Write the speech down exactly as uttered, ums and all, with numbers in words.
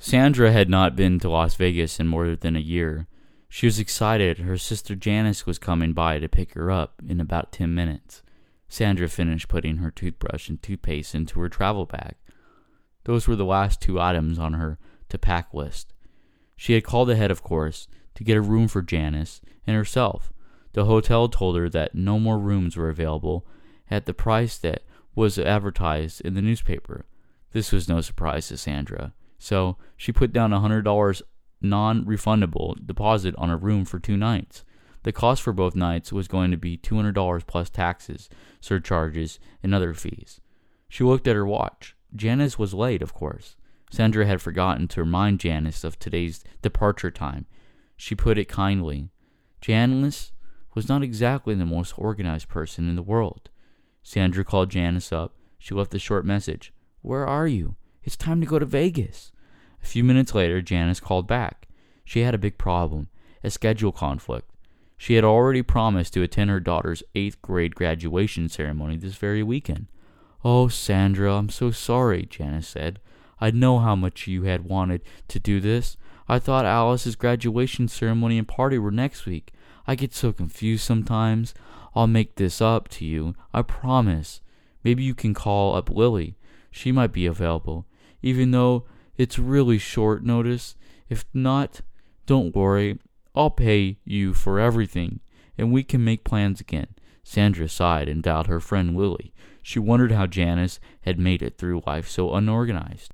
Sandra had not been to Las Vegas in more than a year. She was excited. Her sister Janice was coming by to pick her up in about ten minutes. Sandra finished putting her toothbrush and toothpaste into her travel bag. Those were the last two items on her to-pack list. She had called ahead, of course, to get a room for Janice and herself. The hotel told her that no more rooms were available at the price that was advertised in the newspaper. This was no surprise to Sandra, so she put down a one hundred dollars non-refundable deposit on a room for two nights. The cost for both nights was going to be two hundred dollars plus taxes, surcharges, and other fees. She looked at her watch. Janice was late, of course. Sandra had forgotten to remind Janice of today's departure time. She put it kindly. Janice was not exactly the most organized person in the world. Sandra called Janice up. She left a short message. "Where are you? It's time to go to Vegas." A few minutes later, Janice called back. She had a big problem, a schedule conflict. She had already promised to attend her daughter's eighth grade graduation ceremony this very weekend. "Oh, Sandra, I'm so sorry," Janice said. "I know how much you had wanted to do this. I thought Alice's graduation ceremony and party were next week. I get so confused sometimes. I'll make this up to you, I promise. Maybe you can call up Lily. She might be available, even though it's really short notice. If not, don't worry. I'll pay you for everything, and we can make plans again." Sandra sighed and dialed her friend Lily. She wondered how Janice had made it through life so unorganized.